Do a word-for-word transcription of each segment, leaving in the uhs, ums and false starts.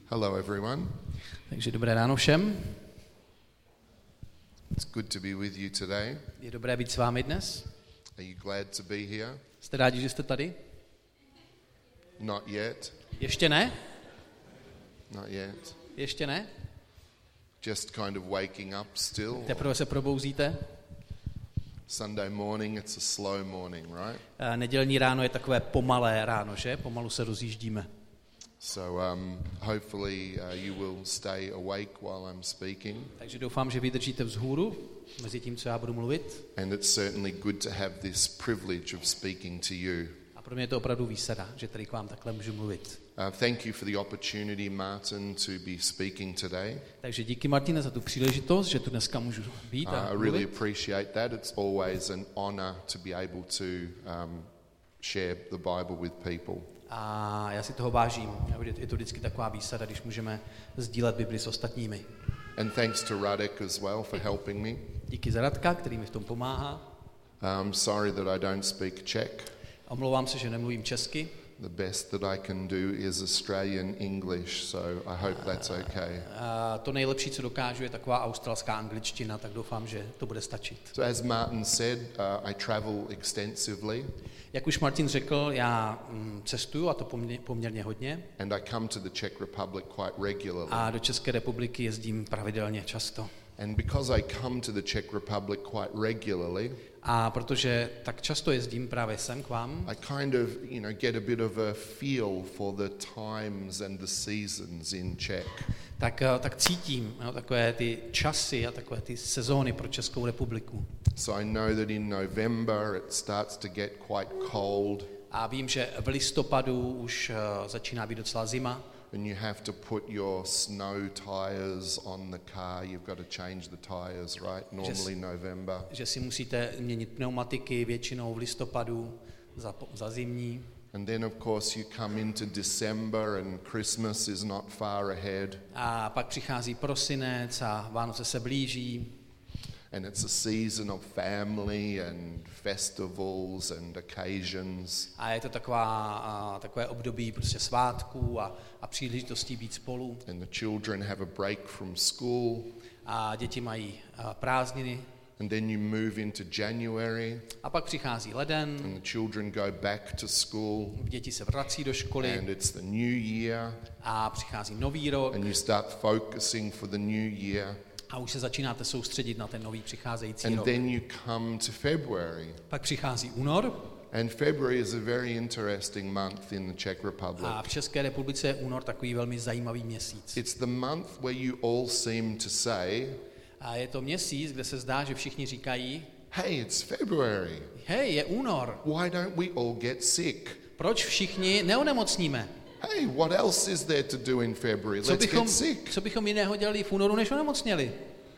Hello everyone. Takže dobré ráno všem. It's good to be with you today. Je dobré být s vámi dnes. Are you glad to be here? Jste rádi, že jste tady? Not yet. Ještě ne? Not yet. Ještě ne? Just kind of waking up still. Teprve se probouzíte? Sunday morning, it's a slow morning, right? A nedělní ráno je takové pomalé ráno, že? Pomalu se rozjíždíme. So um, hopefully uh, you will stay awake while I'm speaking. Takže doufám, že vydržíte vzhůru mezi tím, co já budu mluvit. And it's certainly good to have this privilege of speaking to you. A pro mě je to opravdu výsada, že tady k vám takhle můžu mluvit. Uh, thank you for the opportunity, Martin, to be speaking today. Takže díky, Martine, za tu příležitost, že tu dneska můžu být Uh, a I mluvit. really appreciate that. It's always an honor to be able to um, share the Bible with people. A já si toho vážím. Je to vždycky taková výsada, když můžeme sdílet Bibli s ostatními. And thanks to Radek as well for helping me. Díky za Radka, který mi v tom pomáhá. Um, sorry that I don't speak Czech. Omlouvám se, že nemluvím česky. The best that I can do is Australian English, so I hope that's okay. A to nejlepší, co dokážu, je taková australská angličtina, tak doufám, že to bude stačit. So as Martin said, uh, I travel extensively. Jak už Martin řekl, já cestuju, a to poměrně hodně. And I come to the Czech Republic quite regularly. A do České republiky jezdím pravidelně často. And because I come to the Czech Republic quite regularly, a protože tak často jezdím právě sem k vám, I kind of, you know, get a bit of a feel for the times and the seasons in Czech. Tak, tak cítím no, takové ty časy a takové ty sezóny pro Českou republiku. So I know that in November it starts to get quite cold. A vím, že v listopadu už uh, začíná být docela zima. And you have to put your snow tires on the car. You've got to change the tires, right? Normally že, November. Že si musíte měnit pneumatiky většinou v listopadu za, za zimní. And then of course you come into December and Christmas is not far ahead. A pak přichází prosinec a Vánoce se blíží. And it's a season of family and festivals and occasions. A je to taková, a, takové období prostě svátků a, a příležitostí být spolu. And the children have a break from school. A děti mají a, prázdniny. And then you move into January. A pak přichází leden. And the children go back to school. Děti se vrací do školy. And it's the new year. A přichází nový rok. And you start focusing for the new year. A už se začínáte soustředit na ten nový přicházející And rok. then you come to February. Pak přichází únor. And February is a very interesting month in the Czech Republic. A v České republice je únor takový velmi zajímavý měsíc. It's the month where you all seem to say, a je to měsíc, kde se zdá, že všichni říkají, hey, it's February. Hej, je únor. Why don't we all get sick? Proč všichni neonemocníme? Hey, what else is there to do in February? Co Let's bychom, get sick. co bychom jiného dělali v únoru, než onemocněli?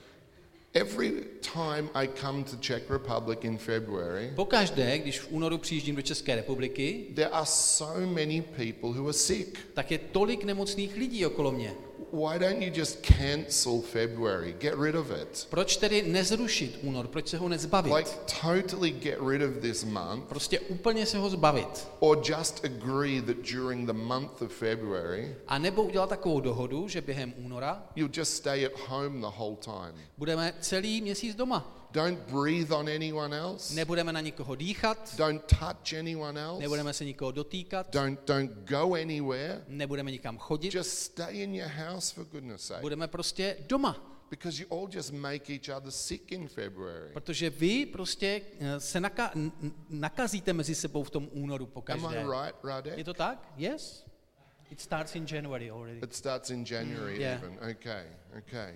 Every time I come to Czech Republic in February, pokaždé, když v únoru přijíždím do České republiky, there are so many people who are sick. Tak je tolik nemocných lidí okolo mě. Why don't you just cancel February? Get rid of it. Proč tedy nezrušit únor? Proč se ho nezbavit? Like totally get rid of this month. Prostě úplně se ho zbavit. Or just agree that during the month of February, a nebo udělat takovou dohodu, že během února you'll just stay at home the whole time. Budeme celý měsíc doma. Don't breathe on anyone else. Nebudeme na nikoho dýchat. Don't touch anyone else. Nebudeme se nikoho dotýkat. Don't don't go anywhere. Nebudeme nikam chodit. Just stay in your house for goodness sake. Budeme prostě doma. Because you all just make each other sick in February. Protože vy prostě se naka- nakazíte mezi sebou v tom únoru pokaždé. Am I right, Radek? Je to tak? Yes. It starts in January already. It starts in January mm, yeah. even. Okay, okay.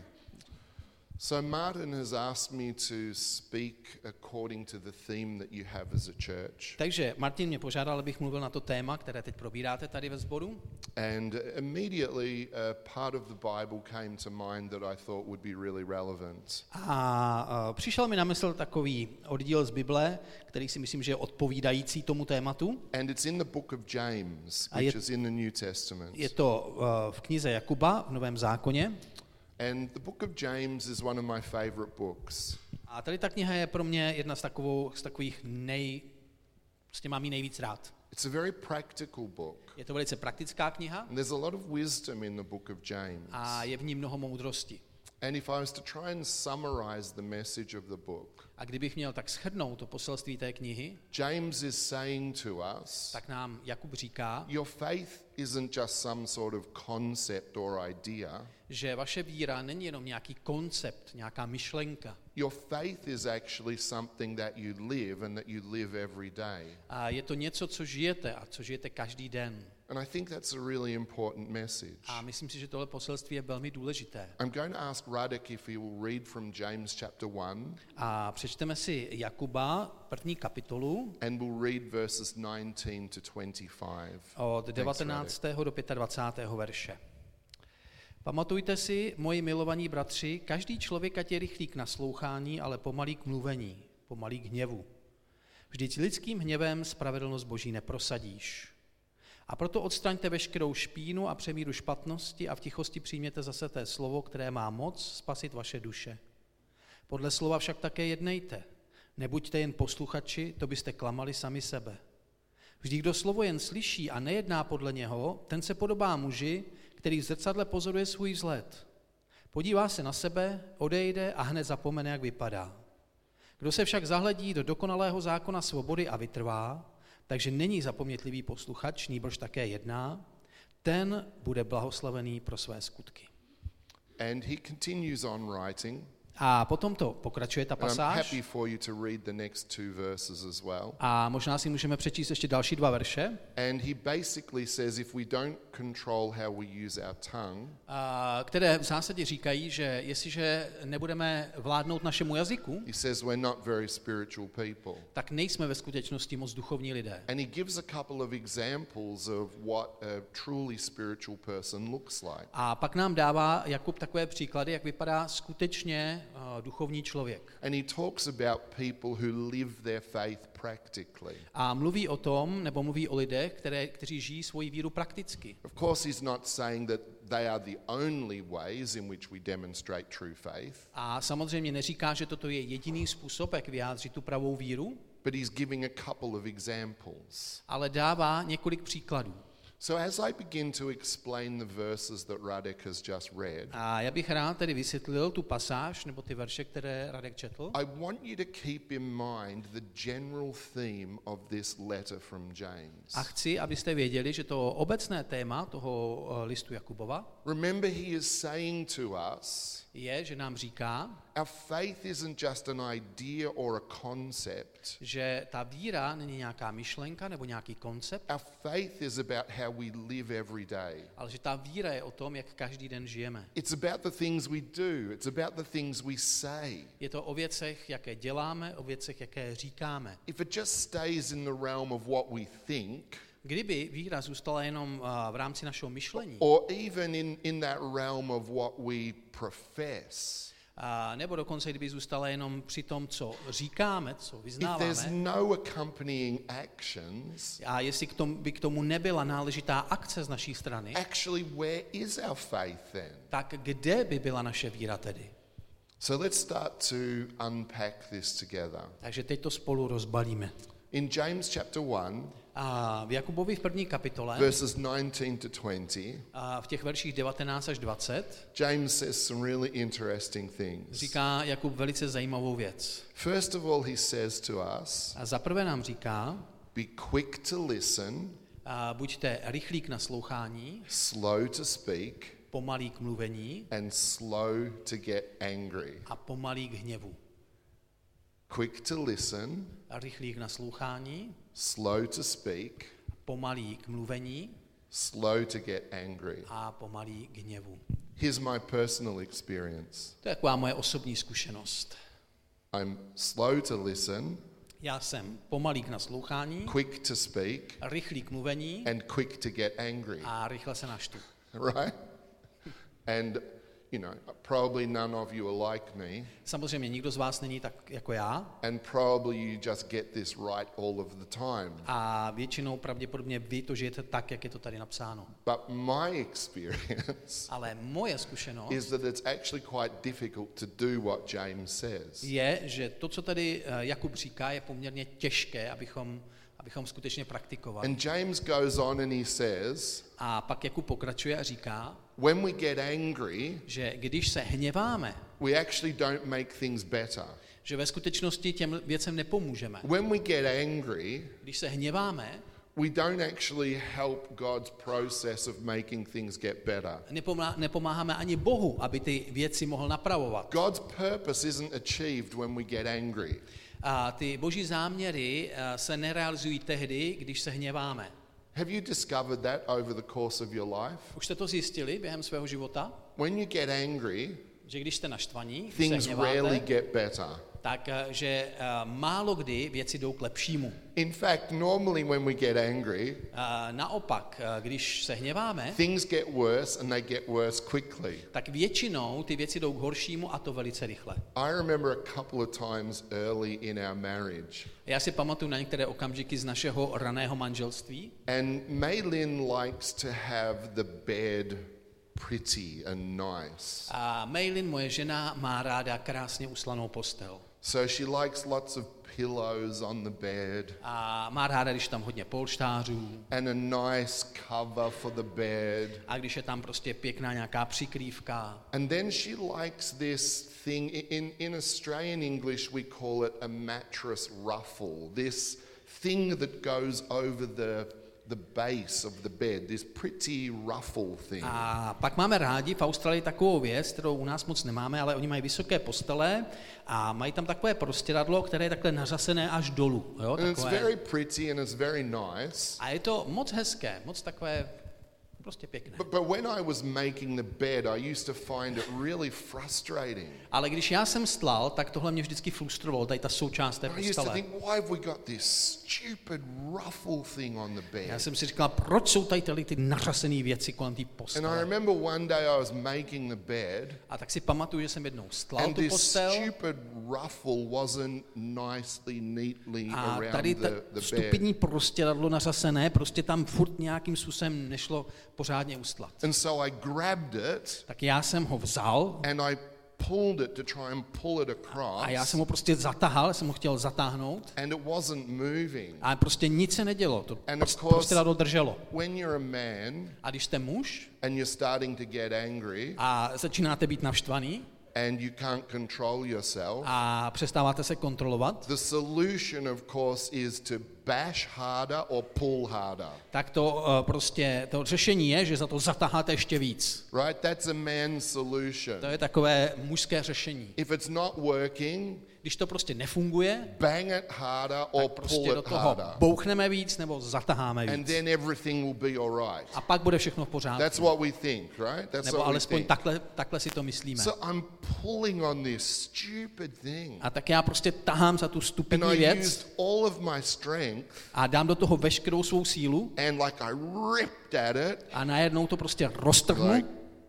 So Martin has asked me to speak according to the theme that you have as a church. Takže Martin mě požádal, abych mluvil na to téma, které teď probíráte tady ve sboru. And immediately a part of the Bible came to mind that I thought would be really relevant. A uh, přišel mi na mysl takový oddíl z Bible, který si myslím, že je odpovídající tomu tématu. And it's in the book of James, A je, which is in the New Testament. Je to uh, v knize Jakuba v Novém zákoně. And the book of James is one of my favorite books. A tady ta kniha je pro mě jedna z, takovou, z takových nej... Prostě mám ji nejvíc rád. It's a very practical book. Je to velice praktická kniha And there's a lot of wisdom in the book of James. a je v ní mnoho moudrosti. And if I was to try and summarize the message of the book, A kdybych měl tak shrnout to poselství té knihy, James is saying to us, tak nám Jakub říká, your faith isn't just some sort of concept or idea. že vaše víra není jenom nějaký koncept, nějaká myšlenka. Your faith is actually something that you live and that you live every day. A je to něco, co žijete a co žijete každý den. And I think that's a really important message. A myslím si, že tohle poselství je velmi důležité. I'm going to ask Radek if he will read from James chapter one. A přečteme si Jakuba, první kapitolu, And we'll read verses nineteen to twenty-five. od devatenáctého do dvacátého pátého verše. Pamatujte si, moji milovaní bratři, každý člověk ať je rychlý k naslouchání, ale pomalý k mluvení, pomalý k hněvu. Vždyť lidským hněvem spravedlnost Boží neprosadíš. A proto odstraňte veškerou špínu a přemíru špatnosti a v tichosti přijměte zase té slovo, které má moc spasit vaše duše. Podle slova však také jednejte. Nebuďte jen posluchači, to byste klamali sami sebe. Vždy, kdo slovo jen slyší a nejedná podle něho, ten se podobá muži, který v zrcadle pozoruje svůj vzhled. Podívá se na sebe, odejde a hned zapomene, jak vypadá. Kdo se však zahledí do dokonalého zákona svobody a vytrvá, takže není zapomnětlivý posluchač, nýbrž také jedná, ten bude blahoslavený pro své skutky. And he continues on writing. A potom to pokračuje ta And I'm pasáž. happy for you to read the next two verses as well. A možná si můžeme přečíst ještě další dva verše, And he basically says if we don't control how we use our tongue, a které v zásadě říkají, že jestliže nebudeme vládnout našemu jazyku, he says we're not very spiritual people. tak nejsme ve skutečnosti moc duchovní lidé. And he gives a couple of examples of what a truly spiritual person looks like. A pak nám dává Jakub takové příklady, jak vypadá skutečně uh, duchovní člověk. And he talks about people who live their faith practically. A mluví o tom, nebo mluví o lidech, které, kteří žijí svoji víru prakticky. Of course, he's not saying that they are the only ways in which we demonstrate true faith, A samozřejmě neříká, že toto je jediný způsob, jak vyjádřit tu pravou víru, but he's giving a couple of examples. ale dává několik příkladů. So as I begin to explain the verses that Radek has just read, A já bych rád tedy vysvětlil tu pasáž, nebo ty verše, které Radek četl. I want you to keep in mind the general theme of this letter from James. A chci, abyste věděli, že to obecné téma toho eh, listu Jakubova Remember, he is saying to us, je, že nám říká, our faith isn't just an idea or a concept. že ta víra není nějaká myšlenka nebo nějaký koncept, Our faith is about how we live every day. ale že ta víra je o tom, jak každý den žijeme. It's about the things we do. It's about the things we say. Je to o věcech, jaké děláme, o věcech, jaké říkáme. If it just stays in the realm of what we think, Kdyby víra zůstala jenom uh, v rámci našeho myšlení, or even in, in that realm of what we profess, a nebo dokonce kdyby zůstala jenom při tom, co říkáme, co if there's vyznáváme, no accompanying actions, a jestli k tomu, by k tomu nebyla náležitá akce z naší strany, actually, where is our faith then? tak kde by byla naše víra tedy? So let's start to unpack this together. Takže teď to spolu rozbalíme. In James chapter one, A v Jakubovi v první kapitole, verses nineteen to twenty, a v těch verších devatenáct až dvacet, James says some really interesting things. říká Jakub velice zajímavou věc. First of all, he says to us, A zaprvé nám říká, be quick to listen, a buďte rychlí k naslouchání, slow to speak, pomalí k mluvení and slow to get angry. a pomalí k hněvu. Quick to listen, A rychlí k naslouchání, slow to speak, pomalí k mluvení slow to get angry. a pomalí k hněvu. Here's my personal experience. To je taková moje osobní zkušenost. I'm slow to listen, Já jsem pomalý k naslouchání, quick to speak, rychlý k mluvení and quick to get angry, a rychle se naštvu. right? And, you know, probably none of you are like me, Samozřejmě nikdo z vás není tak jako já and probably you just get this right all of the time. a většinou pravděpodobně vy to žijete tak, jak je to tady napsáno. But my experience Ale moje zkušenost is that it's actually quite difficult to do what James says. je, že to, co tady eh, Jakub říká, je poměrně těžké, abychom, abychom skutečně praktikovali. And James goes on and he says, A pak Jakub pokračuje a říká, when we get angry, že když se hněváme, we actually don't make things better. že ve skutečnosti těm věcem nepomůžeme. When we get angry, Když se hněváme, we don't actually help God's process of making things get better. nepomá- nepomáháme ani Bohu, aby ty věci mohl napravovat. God's purpose isn't achieved when we get angry. A ty boží záměry eh, se nerealizují tehdy, když se hněváme. Have you discovered that over the course of your life? Už jste to zjistili během svého života? When you get angry, Že když jste naštvaní, když se things rarely hněváte, get better. tak eh, že eh, málo kdy věci jdou k lepšímu. In fact, normally when we get angry, A naopak, eh, když se hněváme, things get worse and they get worse quickly. tak většinou ty věci jdou k horšímu a to velice rychle. I remember a couple of times early in our marriage, Já si pamatuju na některé okamžiky z našeho raného manželství. and Maylin likes to have the bed pretty and nice. A Maylin, moje žena, má ráda krásně uslanou postel. So she likes lots of pillows on the bed A má ráda, když tam hodně polštářů and a nice cover for the bed. a když je tam prostě pěkná nějaká přikrývka. And then she likes this thing, in, in Australian English we call it a mattress ruffle, this thing that goes over the, the base of the bed, this pretty ruffle thing. A pak máme rádi v Austrálii takovou věc, kterou u nás moc nemáme, ale oni mají vysoké postele a mají tam takové prostěradlo, které je takhle nařasené až dolů. Jo, And it's takové. very pretty and it's very nice. A je to moc hezké, moc takové prostě pěkné. But, but when I was making the bed, I used to find it really frustrating. Ale když já jsem stlal, tak tohle mě vždycky frustrovalo, tady ta součást té I used to postele. think, why have we got this stupid ruffle thing on the Já bed? jsem si říkal, proč jsou tady tyhle ty nařasené věci kolem té And I postele. remember one day I was making the bed, A tak si pamatuju, že jsem jednou stlal and tu this postel stupid ruffle wasn't nicely, neatly a around tady the, ta the bed. stupidní prostěradlo nařasené, prostě tam furt nějakým způsobem nešlo pořádně ustlat. And so I grabbed it Tak já jsem ho vzal and I pulled it to try and pull it a já across, jsem ho prostě zatahal, jsem ho chtěl zatáhnout and it wasn't moving. a prostě nic se nedělo, to And of prost- course- prostěradlo drželo. When you're a man A když jste muž and you're starting to get angry a začínáte být naštvaný and you can't control yourself, a přestáváte se kontrolovat, the solution, of course, is to bash harder or pull harder. tak to uh, prostě, to řešení je, že za to zatáháte ještě víc. Right? That's a man's solution. To je takové mužské řešení. If it's not working, Když to prostě nefunguje, bang it harder or tak prostě pull do it toho harder. bouchneme víc nebo zataháme And víc. then everything will be all right. A pak bude všechno v That's pořádku. what we think, right? That's Nebo what we alespoň think. takhle, takhle si to myslíme. So I'm pulling on this stupid thing. A tak já prostě tahám za tu And stupidní I věc used all of my strength a dám do toho veškerou svou sílu and like I ripped at it. a najednou to prostě roztrhnu. Like,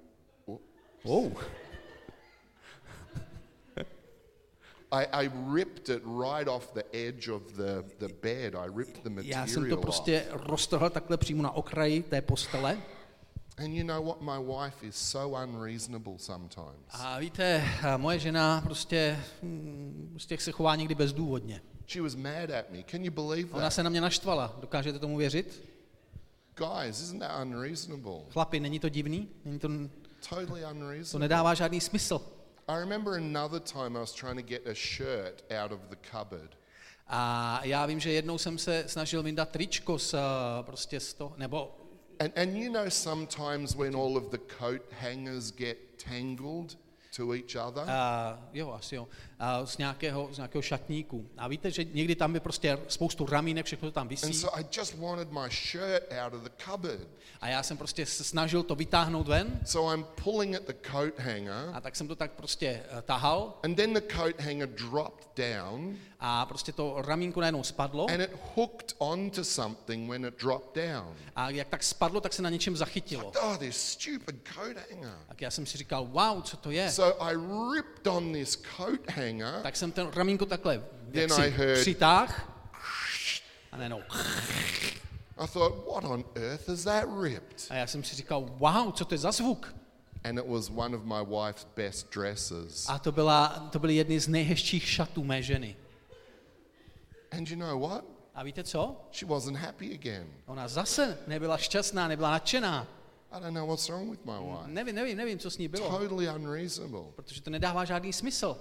Oh. I, I ripped it right off the edge of the, the bed. I ripped the Já jsem to material off. prostě roztrhl takhle přímo na okraji té postele. And you know what? My wife is so unreasonable sometimes. A víte, moje žena prostě, hm, prostě se chová někdy bezdůvodně. She was mad at me. Can you believe Ona that? se na mě naštvala. Dokážete tomu věřit? Guys, isn't that unreasonable? Chlapi, není to divný? Není to, Totally to unreasonable. nedává žádný smysl. I remember another time I was trying to get a shirt out of the cupboard. A já vím, že jednou jsem se snažil vyndat tričko z, prostě z toho, nebo And, and you know sometimes when all of the coat hangers get tangled to each other? Uh, jo, asi jo. Uh, z, nějakého, z nějakého šatníku. A víte, že někdy tam je prostě spoustu ramínek, všechno to tam And visí. so I just wanted my shirt out of the cupboard. A já jsem prostě se snažil to vytáhnout ven. So I'm pulling at the coat hanger, A tak jsem to tak prostě uh, tahal. and then the coat hanger dropped down, A prostě to ramínko najednou spadlo. and it hooked onto something when it dropped down. A jak tak spadlo, tak se na něčem zachytilo. Oh, this stupid coat hanger. Tak já jsem si říkal, wow, co to je? So I ripped on this coat hanger, Tak jsem ten ramínko takhle Then jaksi I heard- přitáhl. A najednou. I thought, what on earth is that ripped? A já jsem si říkal, wow, co to je za zvuk? And it was one of my wife's best dresses. A to, byla, to byly jedny z nejhezčích šatů mé ženy. And you know what? A víte co? She wasn't happy again. Ona zase nebyla šťastná, nebyla nadšená. I don't know what's wrong with my wife. Nevím, nevím, nevím, co s ní bylo. Totally unreasonable. Protože to nedává žádný smysl.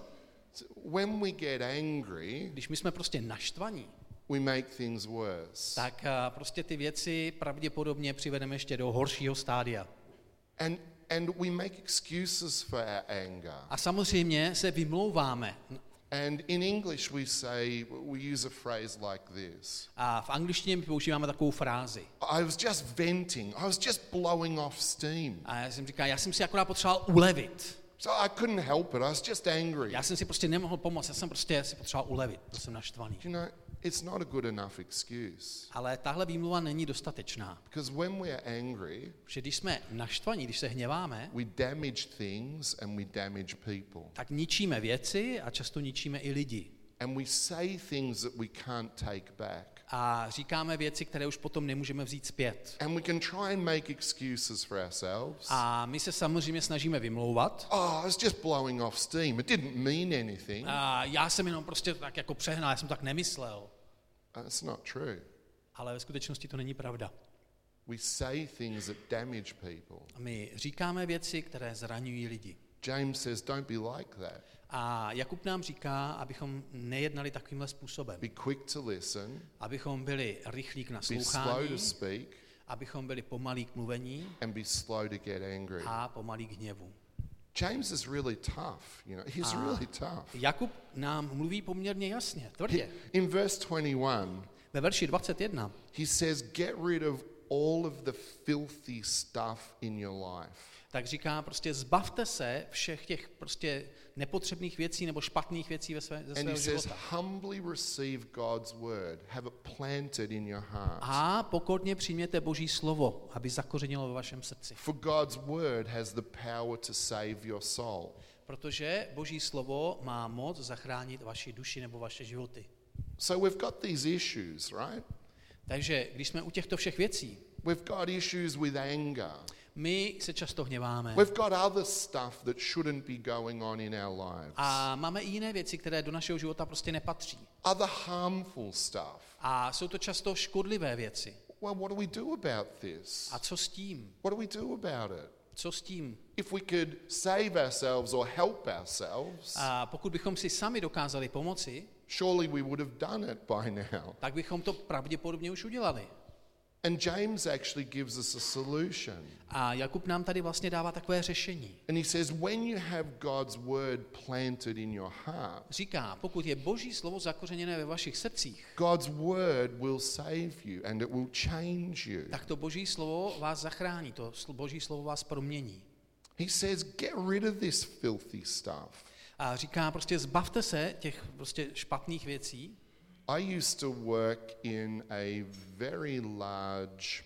When we get angry, Když my jsme prostě naštvaní, we make things worse. tak prostě ty věci pravděpodobně přivedeme ještě do horšího stádia. And and we make excuses for our anger. A samozřejmě se vymlouváme. And in English we say, we use a phrase like this. A v angličtině my používáme takovou frázi. I was just venting. I was just blowing off steam. A já jsem říkal, já jsem si akorát potřeboval ulevit. So I couldn't help it. I was just angry. Já jsem si prostě nemohl pomoct, já jsem prostě si potřeboval ulevit, byl jsem naštvaný. You know, it's not a good enough excuse. Ale tahle výmluva není dostatečná. Because when we are angry, Protože když jsme naštvaní, když se hněváme, we damage things and we damage people. tak ničíme věci a často ničíme i lidi. And we say things that we can't take back. A říkáme věci, které už potom nemůžeme vzít zpět. And we can try and make excuses for ourselves. A my se samozřejmě snažíme vymlouvat. Oh, I was just blowing off steam. It didn't mean anything. A já jsem jenom prostě tak jako přehnal, já jsem tak nemyslel. That's not true. Ale ve skutečnosti to není pravda. We say things that damage people. A my říkáme věci, které zraňují lidi. James says, don't be like that. A Jakub nám říká, abychom nejednali takovýmhle způsobem. Be quick to listen. Abychom byli rychlí k Be slow naslouchání, to speak. abychom byli pomalí k mluvení And be slow to get angry. a pomalí k hněvu. James is really tough, you know. He's A really tough. Jakub nám mluví poměrně jasně, tvrdě. In verse twenty-one, Ve verši dvacet jedna he says, get rid of all of the filthy stuff in your life. tak říká prostě zbavte se všech těch prostě nepotřebných věcí nebo špatných věcí ve své, ze And he svého says, života. humbly receive God's word, have it planted in your heart. A pokorně přijměte Boží slovo, aby zakořenilo ve vašem srdci. For God's word has the power to save your soul. Protože Boží slovo má moc zachránit vaši duši nebo vaše životy. So we've got these issues, right? Takže když jsme u těchto všech věcí, We've got issues with anger. my se často hněváme. We've got other stuff that shouldn't be going on in our lives. A máme i jiné věci, které do našeho života prostě nepatří. Other harmful stuff. A jsou to často škodlivé věci. Well, what do we do about this? A co s tím? What do we do about it? Co s tím? If we could save ourselves or help ourselves, A pokud bychom si sami dokázali pomoci, surely we would have done it by now. tak bychom to pravděpodobně už udělali. And James actually gives us a solution. A Jakub nám tady vlastně dává takové řešení. And he says, when you have God's word planted in your heart, Říká, pokud je Boží slovo zakořeněné ve vašich srdcích, God's word will save you and it will change you. tak to Boží slovo vás zachrání, to sl- Boží slovo vás promění. He says, get rid of this filthy stuff. A říká prostě zbavte se těch prostě špatných věcí. I used to work in a very large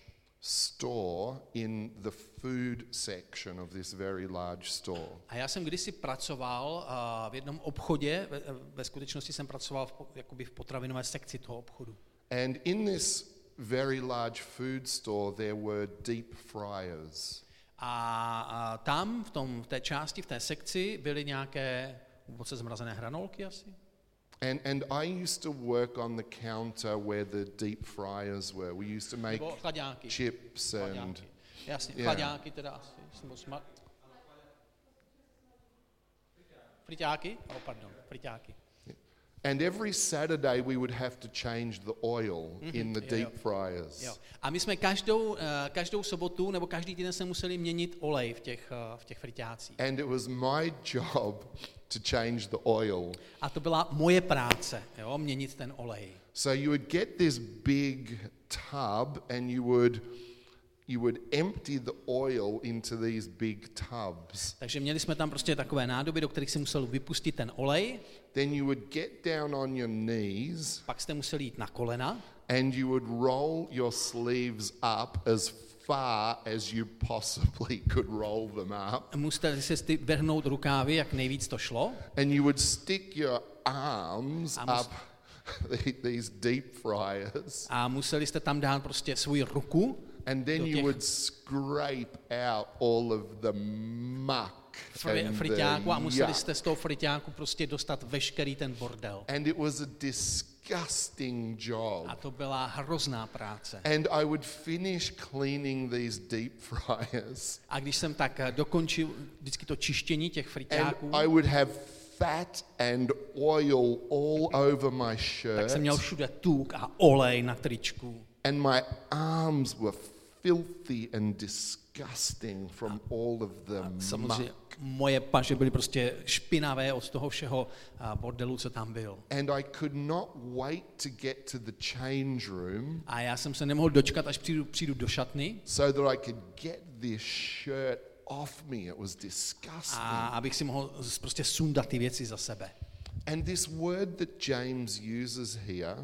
store in the food section of this very large store. A já jsem kdysi pracoval uh, v jednom obchodě, ve, ve skutečnosti jsem pracoval v, po- jakoby v potravinové sekci toho obchodu. And in this very large food store there were deep fryers. A, a tam v, tom, v té části, v té sekci byly nějaké hluboce zmrazené hranolky asi. And and I used to work on the counter where the deep fryers were. We used to make Nebo chlaďáky. chips and Chlaďáky. Jasně, Yeah. chlaďáky teda asi. Nebo smar... Friťáky? Oh, pardon, friťáky. and every Saturday we would have to change the oil in the Jo, deep jo. fryers. Jo. A my jsme každou, eh, každou sobotu nebo každý týden se museli měnit olej v těch, eh, v těch friťácích. And it was my job to change the oil. A to byla moje práce, jo, měnit ten olej. So you would get this big tub and you would you would empty the oil into these big tubs. Takže měli jsme tam prostě takové nádoby, do kterých se musel vypustit ten olej, Then you would get down on your knees pak jste museli jít na kolena and you would roll your sleeves up as far as you possibly could roll them up. museli se sti- vrhnout rukávy, jak nejvíc to šlo. And you would stick your arms A mus- up these deep fryers. A museli jste tam dát prostě svoji ruku And then do you těch would scrape out all of the muck fri- and friťáku a the museli yuck. jste z toho friťáku prostě dostat veškerý ten bordel. And it was a disgusting job. A to byla hrozná práce. And I would finish cleaning these deep fryers. A když jsem tak dokončil vždycky to čištění těch friťáků, And I would have fat and oil all over my tak shirt. jsem měl všude tuk a olej na tričku. And my arms were filthy and disgusting from all of the Samozřejmě muck. moje paže byly prostě špinavé od toho všeho bordelu, co tam byl. And I could not wait to get to the change room A já jsem se nemohl dočkat, až přijdu, přijdu do šatny, so that I could get this shirt off me. It was disgusting. a abych si mohl prostě sundat ty věci za sebe. And this word that James uses here,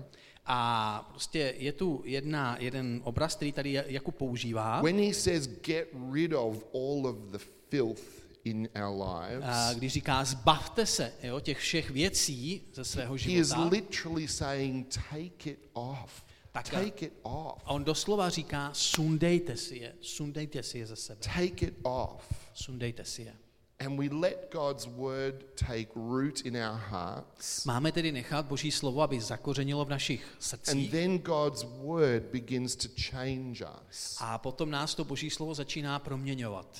A prostě je tu jedna, jeden obraz, který tady Jakub používá, when he says get rid of all of the filth in our a lives, když říká zbavte se, jo, těch všech věcí ze svého he is života, literally saying take it off. Tak- Take it off. a on doslova říká sundejte si je, sundejte si je ze sebe, Take it off. sundejte si je. And we let God's word take root in our hearts. Máme tedy nechat Boží slovo, aby zakořenilo v našich And srdcích, then God's word begins to change us. a potom nás to Boží slovo začíná proměňovat.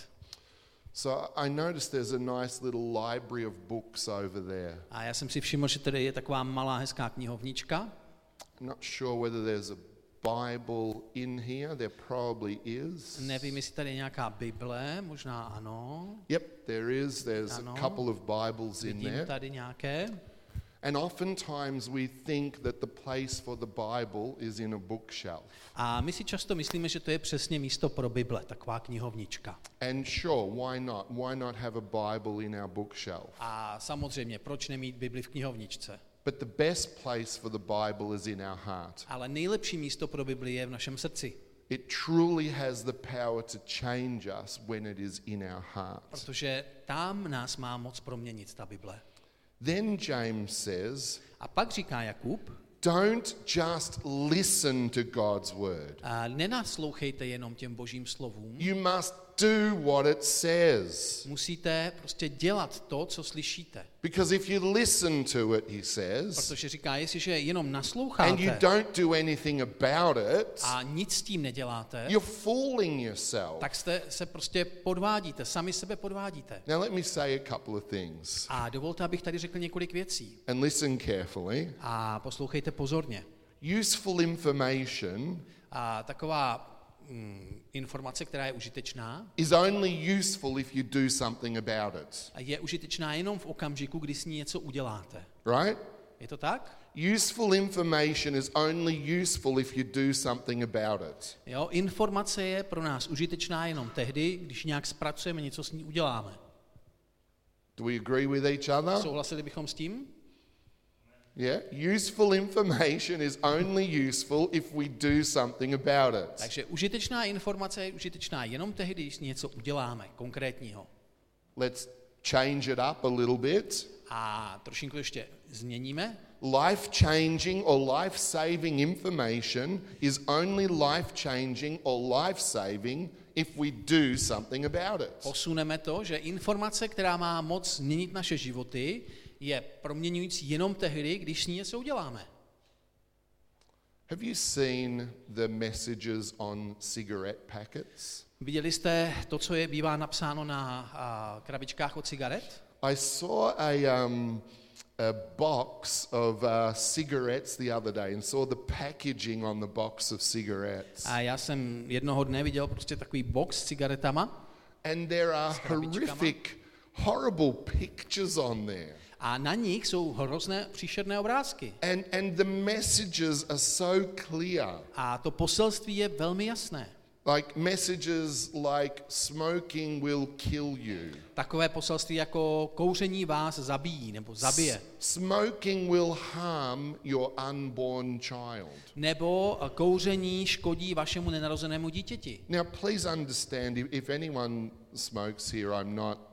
So I noticed there's a nice little library of books over there. A já jsem si všiml, že tady je taková malá hezká knihovnička. I'm not sure whether there's a Bible in here. There probably is. Nevím, jestli tady je nějaká Bible, možná ano. Yep, there is. There's Ano. a couple of Bibles in Vidím there. tady nějaké. And oftentimes we think that the place for the Bible is in a bookshelf. A my si často myslíme, že to je přesně místo pro Bible, taková knihovnička. And sure, why not? Why not have a Bible in our bookshelf? A samozřejmě, proč nemít Bibli v knihovničce? But the best place for the Bible is in our heart. Ale nejlepší místo pro Bibli je v našem srdci, It truly has the power to change us when it is in our heart. protože tam nás má moc proměnit ta Bible. Then James says, A pak říká Jakub, don't just listen to God's word. a nenaslouchejte jenom těm božím slovům, You must do what it says. musíte prostě dělat to, co slyšíte. Because if you listen to it, he says, Protože říká, jestliže jenom and you nasloucháte don't do anything about it, a nic s tím neděláte, you're fooling yourself. tak jste se prostě podvádíte, sami sebe podvádíte. Now let me say a couple of things. A dovolte, abych tady řekl několik věcí. And listen carefully. A poslouchejte pozorně. Useful information A taková mm, informace, která je užitečná, is only useful if you do something about it. je užitečná jenom v okamžiku, kdy s ní něco uděláte. Right? Je to tak? Useful information is only useful if you do something about it. Jo, informace je pro nás užitečná jenom tehdy, když nějak zpracujeme, něco s ní uděláme. Do we agree with each other? Souhlasili bychom s tím? Yeah? Useful information is only useful if we do something about it. Takže užitečná informace je užitečná jenom tehdy, když něco uděláme konkrétního. Let's change it up a little bit. A trošinku ještě změníme. Life-changing or life-saving information is only life-changing or life-saving if we do something about it. Posuneme to, že informace, která má moc změnit naše životy, je proměňující jenom tehdy, když s ní něco uděláme. Have you seen the messages on cigarette packets? Viděli jste to, co je bývá napsáno na a, krabičkách od cigaret? I saw a, um, a box of uh, cigarettes the other day and saw the packaging on the box of cigarettes. A já jsem jednoho dne viděl prostě takový box s cigaretama And there are krabičkama. horrific, horrible pictures on there. a na nich jsou hrozné příšerné obrázky. And, and the messages are so clear. A to poselství je velmi jasné. Like messages like smoking will kill you. Takové poselství jako kouření vás zabíjí nebo zabije. Smoking will harm your unborn child. Nebo kouření škodí vašemu nenarozenému dítěti. Now please understand, if, if anyone smokes here, I'm not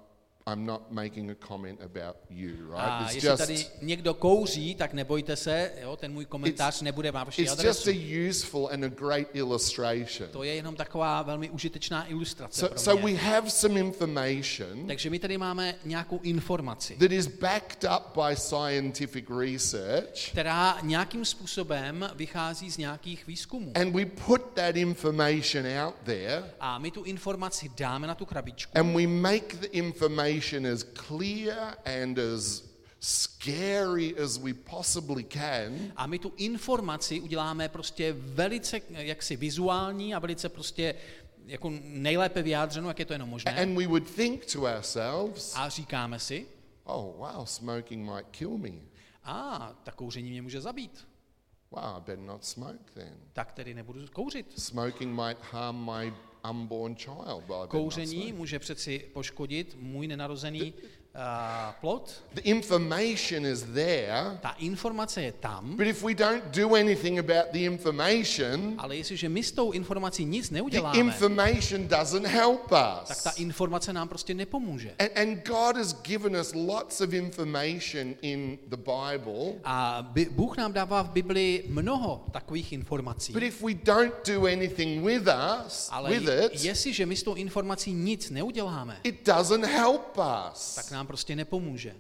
I'm not making a comment about you, right? A It's jestli just, tady někdo kouří, tak nebojte se, jo, ten můj komentář nebude na vaši it's just adresu. a useful and a great illustration. To je jenom taková velmi užitečná ilustrace So, pro so mě. we have some information Takže my tady máme nějakou informaci, that is backed up by scientific research, která nějakým způsobem vychází z nějakých výzkumů. and we put that information out there, A my tu informaci dáme na tu krabičku and we make the information as clear and as scary as we possibly can, a my tu informaci uděláme prostě velice jaksi vizuální a velice prostě jako nejlépe vyjádřenou, jak je to jenom možné. and we would think to ourselves, A říkáme si, oh wow, smoking might kill me. a tak kouření mě může zabít, Wow, I better not smoke then. tak tedy nebudu kouřit. Smoking might harm my unborn child. Well, I better not Kouření smoke. může přeci poškodit můj nenarozený uh, plod. The information is there, Ta informace je tam, but if we don't do anything about the information, ale jestliže my s tou informací nic the neuděláme, information doesn't help tak ta us. informace nám prostě nepomůže. And, and God has given us lots of information in the Bible, A by, Bůh nám dává v Bibli mnoho takových informací. but if we don't do anything with us, Ale with it, jestliže my s tou informací nic neuděláme, it doesn't help us. tak nám prostě nepomůže.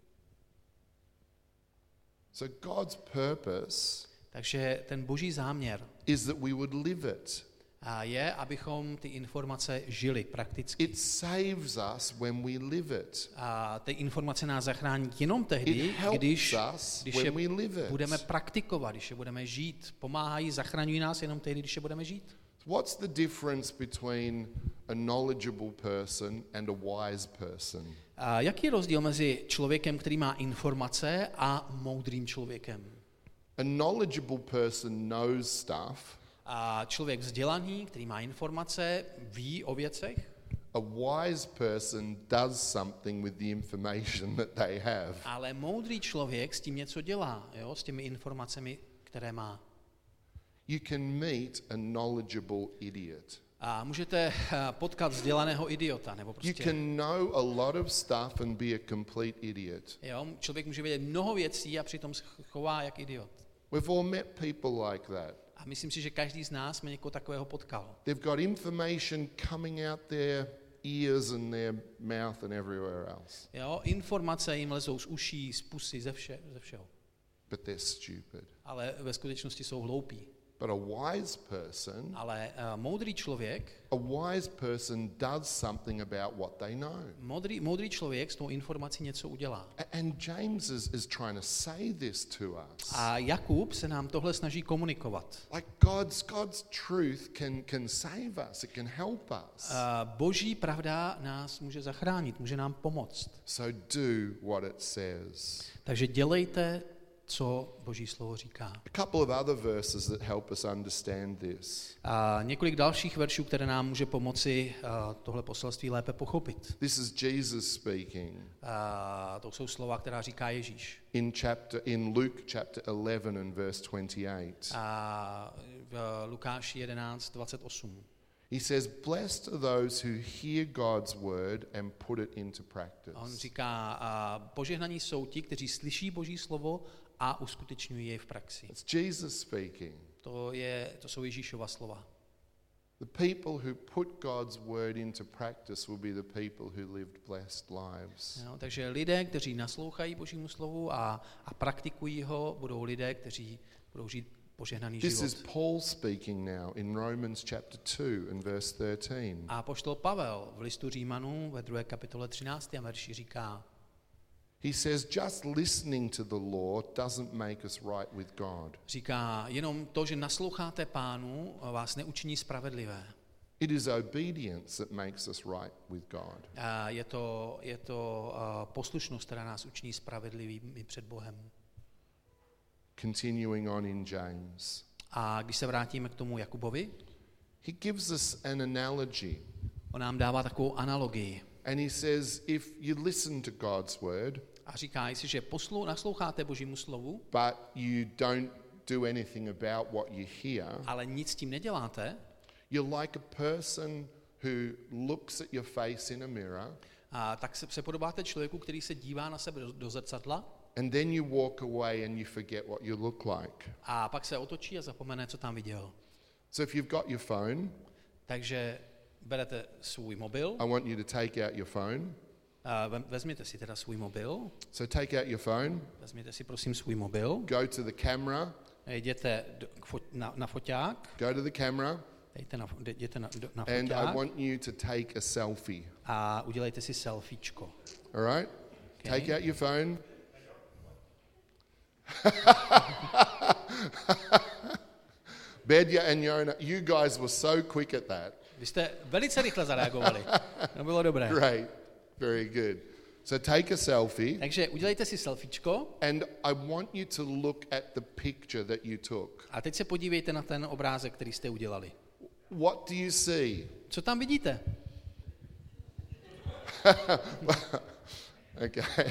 So God's purpose Takže ten boží záměr is that we would live it. a je, abychom ty informace žili prakticky. It saves us when we live it. A ty informace nás zachrání jenom It tehdy, helps když, us když je when we live it. budeme praktikovat, když je budeme žít. Pomáhají, zachraňují nás jenom tehdy, když je budeme žít. What's the difference between a knowledgeable person and a wise person? A jaký je rozdíl mezi člověkem, který má informace, a moudrým člověkem? A knowledgeable person knows stuff. A člověk vzdělaný, který má informace, ví o věcech, A wise person does something with the information that they have. ale moudrý člověk s tím něco dělá, jo, s těmi informacemi, které má. You can meet a knowledgeable idiot. A můžete eh, potkat vzdělaného idiota, nebo You prostě, can know a lot of stuff and be a complete idiot. jo, člověk může vědět mnoho věcí a přitom se chová jak idiot. We've all met people like that. A myslím si, že každý z nás mě někoho takového potkal. They've got information coming out their ears and their mouth and everywhere else. Jo, informace jim lezou z uší, z pusy, ze, vše, ze všeho. But they're stupid. Ale ve skutečnosti jsou hloupí. But a wise person, Ale uh, moudrý člověk, a wise person does something about what they know. moudrý, moudrý člověk s tou informací něco udělá. A- And James is, is trying to say this to us. A Jakub se nám tohle snaží komunikovat. Like God's God's truth can, can save us, it can help us. Uh, boží pravda nás může zachránit, může nám pomoct. So do what it says. Takže dělejte, co boží slovo říká. A couple of other verses that help us understand this. A několik dalších veršů, které nám může pomoci uh, tohle poselství lépe pochopit. This is Jesus speaking A to jsou slova, která říká Ježíš. in chapter in Luke chapter eleven and verse twenty-eight. A v Lukáši jedenáct dvacet osm. He says, "Blessed are those who hear God's word and put it into practice." A on říká, a požehnaní jsou ti, kteří slyší boží slovo a uskutečňují jej v praxi. It's Jesus speaking. To, je, to jsou Ježíšova slova. The people who put God's word into practice will be the people who lived blessed lives. Jo, takže lidé, kteří naslouchají božímu slovu a, a praktikují ho, budou lidé, kteří budou žít požehnaný This is život. Paul speaking now in Romans chapter two and verse thirteen. A apoštol Pavel v listu Římanů ve druhé kapitole třináctém verši říká, He says, just listening to the law doesn't make us right with God. říká, jenom to, že nasloucháte Pánu, vás neučiní spravedlivé. It is obedience that makes us right with God. A je to, je to uh, poslušnost, která nás učiní spravedlivými před Bohem. Continuing on in James. A když se vrátíme k tomu Jakubovi, He gives us an analogy. on nám dává takovou analogii. And he says, if you listen to God's word, A říká, jestliže poslou, nasloucháte Božímu slovu, but you don't do anything about what you hear, ale nic s tím neděláte, you're like a person who looks at your face in a mirror A tak se, se podobáte člověku, který se dívá na sebe do, do zrcadla and then you walk away and you forget what you look like. a pak se otočí a zapomene, co tam viděl. So if you've got your phone, Takže berete svůj mobil, I want you to take out your phone. a vem- vezměte si teda svůj mobil, So take out your phone, vezměte si prosím svůj mobil, go to the camera, jděte do, k fo, na, na foťák, go to the camera, jděte na, jděte na, do, na and I foťák want you to take a selfie. a udělejte si selfiečko. All right? Okay. Take out your phone. Bedja and Yona, you guys were so quick at that. Vy jste velice rychle zareagovali. To bylo dobré. Great. Very good. So take a selfie, Takže udělejte si selfiečko and I want you to look at the picture that you took. a teď se podívejte na ten obrázek, který jste udělali. What do you see? Co tam vidíte? Okay.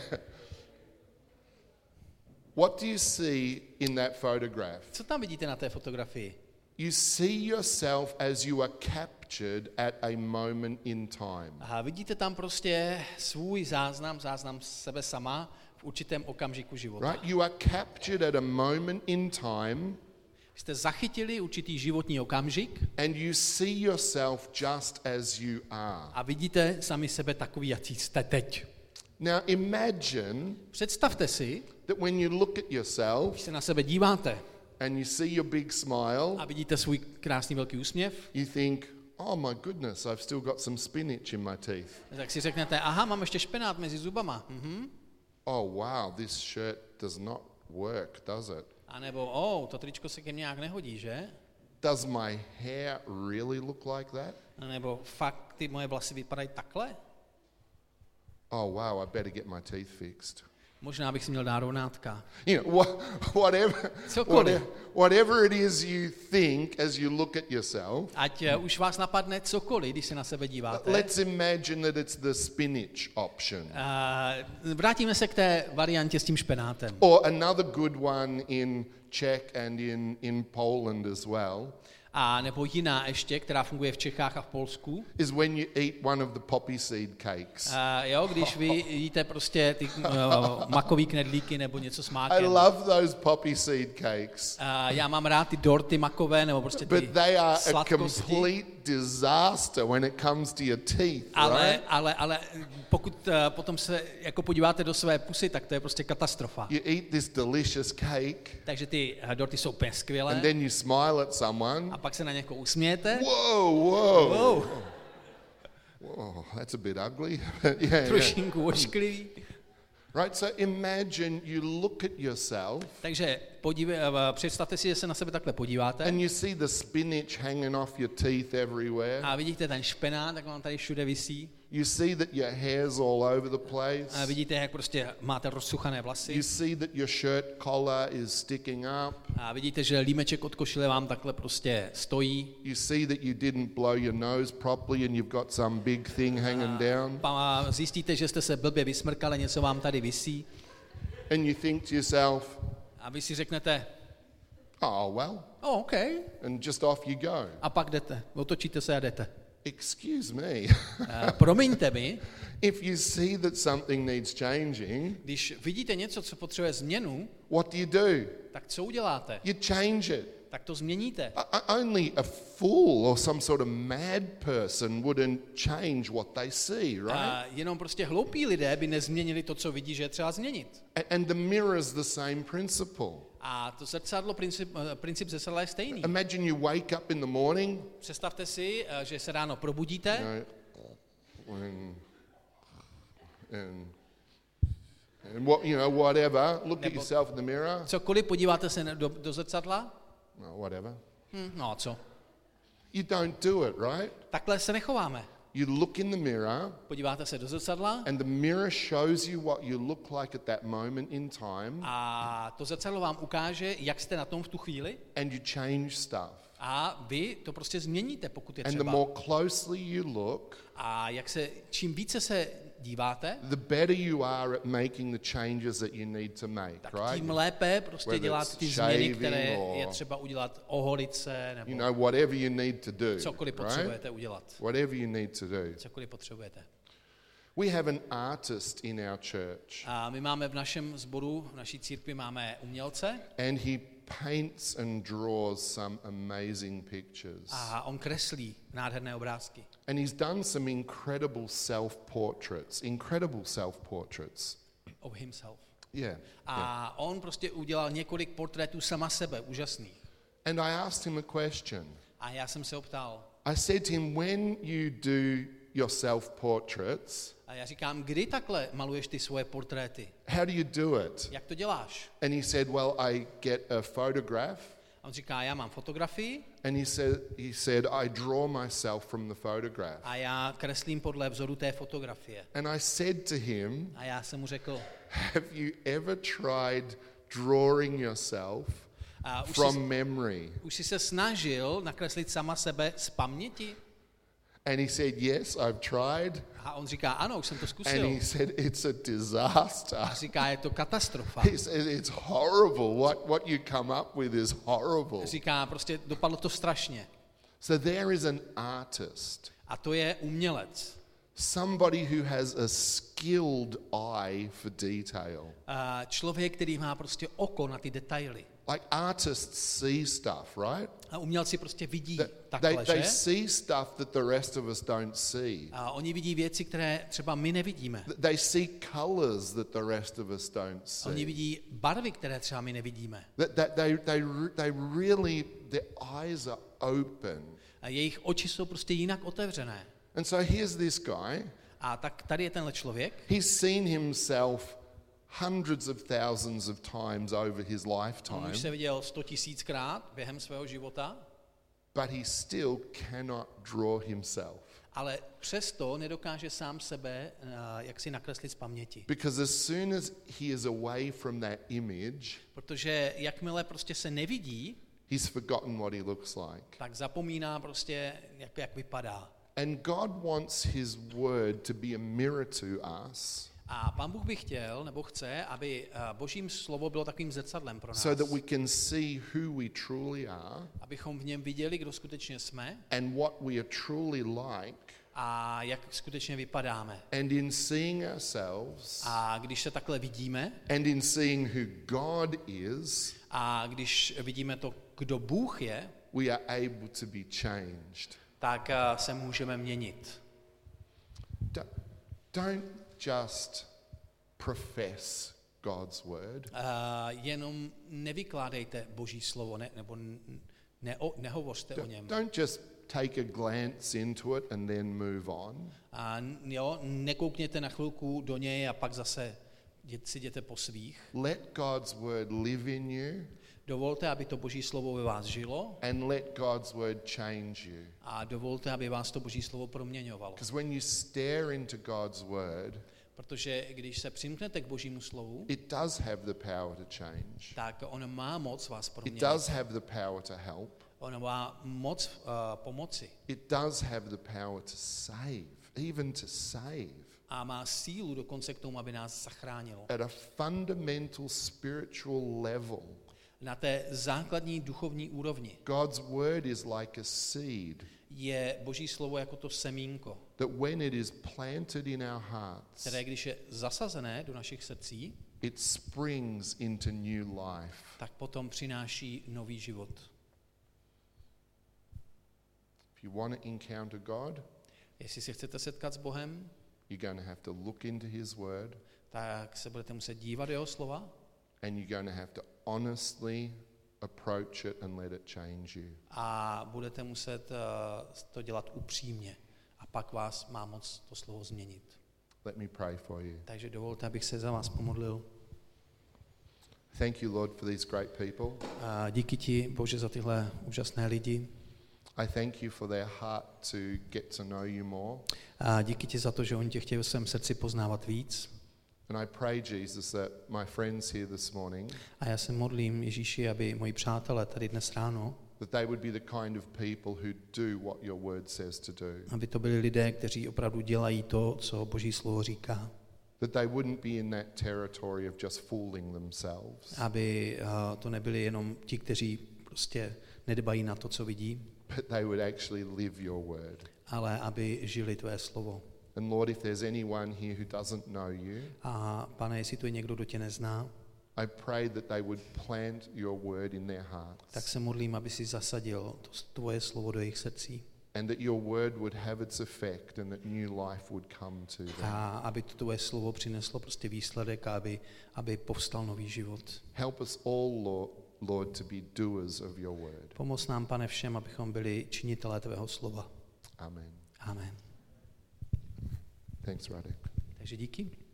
What do you see in that photograph? Co tam vidíte na té fotografii? You see yourself as you are captured at a moment in time. Aha, vidíte tam prostě svůj záznam, záznam sebe sama v určitém okamžiku života. Right? You are captured at a moment in time, Jste zachytili určitý životní okamžik and you see yourself just as you are. a vidíte sami sebe takový, jaký jste teď. Now imagine Představte si, that when you look at když yourself se na sebe díváte and you see your big smile, a vidíte svůj krásný velký úsměv, you think, oh my goodness, I've still got some spinach in my teeth. tak si řeknete, aha, mám ještě špenát mezi zubama. Mhm. Oh wow, this shirt does not work, does it? A nebo, oh, to tričko se ke mně nějak nehodí, že? Does my hair really look like that? A nebo fakt ty moje vlasy vypadají takhle? Oh wow, I better get my teeth fixed. Možná bych si měl dát rovnátka. You know, wha- whatever, Cokoliv. whatever, whatever it is you think as you look at yourself, Ať uh, už vás napadne cokoliv, když se na sebe díváte. let's imagine that it's the spinach option. Uh, vrátíme se k té variantě s tím špenátem. Or another good one in Czech and in, in Poland as well A nebo jiná ještě, která funguje v Čechách a v Polsku. is when you eat one of the poppy seed cakes. Uh, jo, když vy jíte prostě ty uh, makový knedlíky nebo něco s I mákem. love those poppy seed cakes, Uh, já mám rád ty dorty makové nebo prostě ty but they are a sladkosti. complete disaster when it comes to your teeth, Ale, right? ale, ale pokud uh, potom se jako podíváte do své pusy, tak to je prostě katastrofa. You eat this delicious cake, Takže ty uh, dorty jsou úplně skvělé and then you smile at someone. a pak se na někoho usmějete. Whoa, whoa, Wow, whoa, that's a bit ugly. yeah, yeah. trošinku ošklivý. Right, so imagine you look at yourself Takže podívej, uh, představte si, že se na sebe takhle podíváte and you see the spinach hanging off your teeth everywhere. a vidíte ten špenát, tak vám tady všude visí. You see that your hair's all over the A place. vidíte, jak prostě máte rozsuchané vlasy. You see that your shirt collar is sticking up. A vidíte, že límeček od košile vám takhle prostě stojí. You see that you didn't blow your nose properly and you've got some big thing hanging down. A zjistíte, že jste se blbě vysmrkali, něco vám tady visí. And you think to yourself, A vy si řeknete, oh, well, oh, OK. and just off you go. A pak jdete, otočíte se a jdete. Excuse me. A promiňte mi, If you see that something needs changing, když vidíte něco, co potřebuje změnu, what do you do? tak co uděláte? You change it. Tak to změníte. O- o- Only a fool or some sort of mad person wouldn't change what they see, right? A jenom prostě hloupí lidé by nezměnili to, co vidí, že je třeba změnit. A- And the mirror is the same principle. A to zrcadlo, princip, eh, princip zrcadla je stejný. Imagine you wake up in the morning, Představte si, eh, že se ráno probudíte you know, and, and, and what, you know, whatever, look at Nebo- yourself in the mirror, cokoliv, podíváte se do, do zrcadla, no, whatever. hm, no a co? You don't do it, right? Takhle se nechováme. You look in the mirror, Podíváte se do zrcadla and the mirror shows you what you look like at that moment in time, a to zrcadlo vám ukáže, jak jste na tom v tu chvíli and you change stuff. a vy to prostě změníte, pokud je And the třeba. more closely you look, A jak se, čím více se díváte, the better you are at making the changes that you need to make, tak right? tím lépe prostě Whether děláte it's ty změny, shaving které or- je třeba udělat, oholit se, You nebo know, whatever you need to do, cokoliv right? potřebujete udělat. Whatever you need to do. Cokoliv potřebujete. We have an artist in our church. A my máme v našem sboru, v naší církvi máme umělce. And he paints and draws some amazing pictures. A on kreslí nádherné obrázky. And he's done some incredible self-portraits, incredible self-portraits. Of himself. Yeah. A yeah. on prostě udělal několik portrétů sama sebe, úžasných. And I asked him a question. A já jsem se ho ptal. I said to him, when you do your self-portraits, A já říkám, kdy takhle maluješ ty svoje portréty? how do you do it? Jak to děláš? And he said, well, I get a photograph. A on říká, já mám fotografii And he said, he said, I draw myself from the photograph. a já kreslím podle vzoru té fotografie. And I said to him, A já jsem mu řekl, have you ever tried drawing yourself a už, from jsi, memory? už jsi se snažil nakreslit sama sebe z paměti? And he said, yes, I've tried. A on říká, ano, už jsem to And zkusil. he said, it's a disaster. A říká, je to katastrofa. He said, it's horrible. What, what you come up with is horrible. Říká, prostě dopadlo to strašně. So there is an artist, A to je umělec. somebody who has a skilled eye for detail. A člověk, který má prostě oko na ty detaily. Like artists see stuff, right? A umělci prostě vidí They, takhle, they že? see stuff that the rest of us don't see. A oni vidí věci, které třeba my nevidíme. They see colors that the rest of us don't see. Oni vidí barvy, které třeba my nevidíme. That, that they, they, they really, their eyes are open. A jejich oči jsou prostě jinak otevřené. And so here's this guy. A tak tady je tenhle člověk. He's seen himself hundreds of thousands of times over his On lifetime, už se viděl sto tisíckrát během svého života, but he still cannot draw himself. ale přesto nedokáže sám sebe uh, jak si nakreslit z paměti. Because as soon as he is away from that image, Protože jakmile prostě se nevidí, he's forgotten what he looks like. tak zapomíná prostě, jak, jak vypadá. And God wants his word to be a mirror to us, A Pán Bůh by chtěl, nebo chce, aby Božím slovo bylo takovým zrcadlem pro nás. so that we can see who we truly are Abychom v něm viděli, kdo skutečně jsme and what we are truly like. a jak skutečně vypadáme. And in seeing ourselves A když se takhle vidíme and in seeing who God is, a když vidíme to, kdo Bůh je, we are able to be changed. tak se můžeme měnit. Don't, don't just profess God's word. Uh, jenom nevykládejte Boží slovo, ne, nebo ne, o, nehovořte o něm. Don't just take a glance into it and then move on. A jo, nekoukněte na chvilku do něj a pak zase si jděte po svých. Let God's word live in you Dovolte, aby to Boží slovo ve vás žilo and let God's word change you. a dovolte, aby vás to Boží slovo proměňovalo. Because when you stare into God's word, Protože když se přimknete k Božímu slovu, it does have the power to change. tak on má moc vás It proměnit. does have the power to help. On má moc uh, pomoci It does have the power to save, even to save. a má sílu dokonce k tomu, aby nás zachránilo. At a fundamental spiritual level, Na té základní duchovní úrovni God's word is like a seed je Boží slovo jako to semínko, that when it is planted in our hearts, které když je zasazené do našich srdcí, it springs into new life. tak potom přináší nový život. If you want to encounter God, Jestli se chcete setkat s Bohem, you're going to have to look into his word tak se budete muset dívat do jeho slova and you're going to have to honestly approach it and let it change you. a budete muset uh, to dělat upřímně. A pak vás má moc to slovo změnit. Let me pray for you. Takže dovolte, abych se za vás pomodlil. Thank you, Lord, for these great people. A díky ti, Bože, za tyhle úžasné lidi. I thank you for their heart to get to know you more. A díky ti za to, že oni tě chtějí v svém srdci poznávat víc. And I pray, Jesus, that my friends here this morning, A já se modlím, Ježíši, aby moji přátelé tady dnes ráno, that they would be the kind of people who do what your word says to do. aby to byli lidé, kteří opravdu dělají to, co Boží slovo říká. That they wouldn't be in that territory of just fooling themselves, Aby uh, to nebyli jenom ti, kteří prostě nedbají na to, co vidí, but they would actually live your word. ale aby žili tvé slovo. And Lord, if there's anyone here who doesn't know you, A Pane, jestli tu je někdo, kdo tě nezná, I pray that they would plant your word in their hearts. tak se modlím, aby si zasadil to tvoje slovo do jejich srdcí. And that your word would have its effect and that new life would come to them. A aby to tvoje slovo přineslo prostě výsledek a aby, aby povstal nový život. Help us all, Lord, Lord, to be doers of your word. Pomoz nám, Pane, všem, abychom byli činitelé tvého slova. Amen. Amen. Thanks, Radek. Takže díky.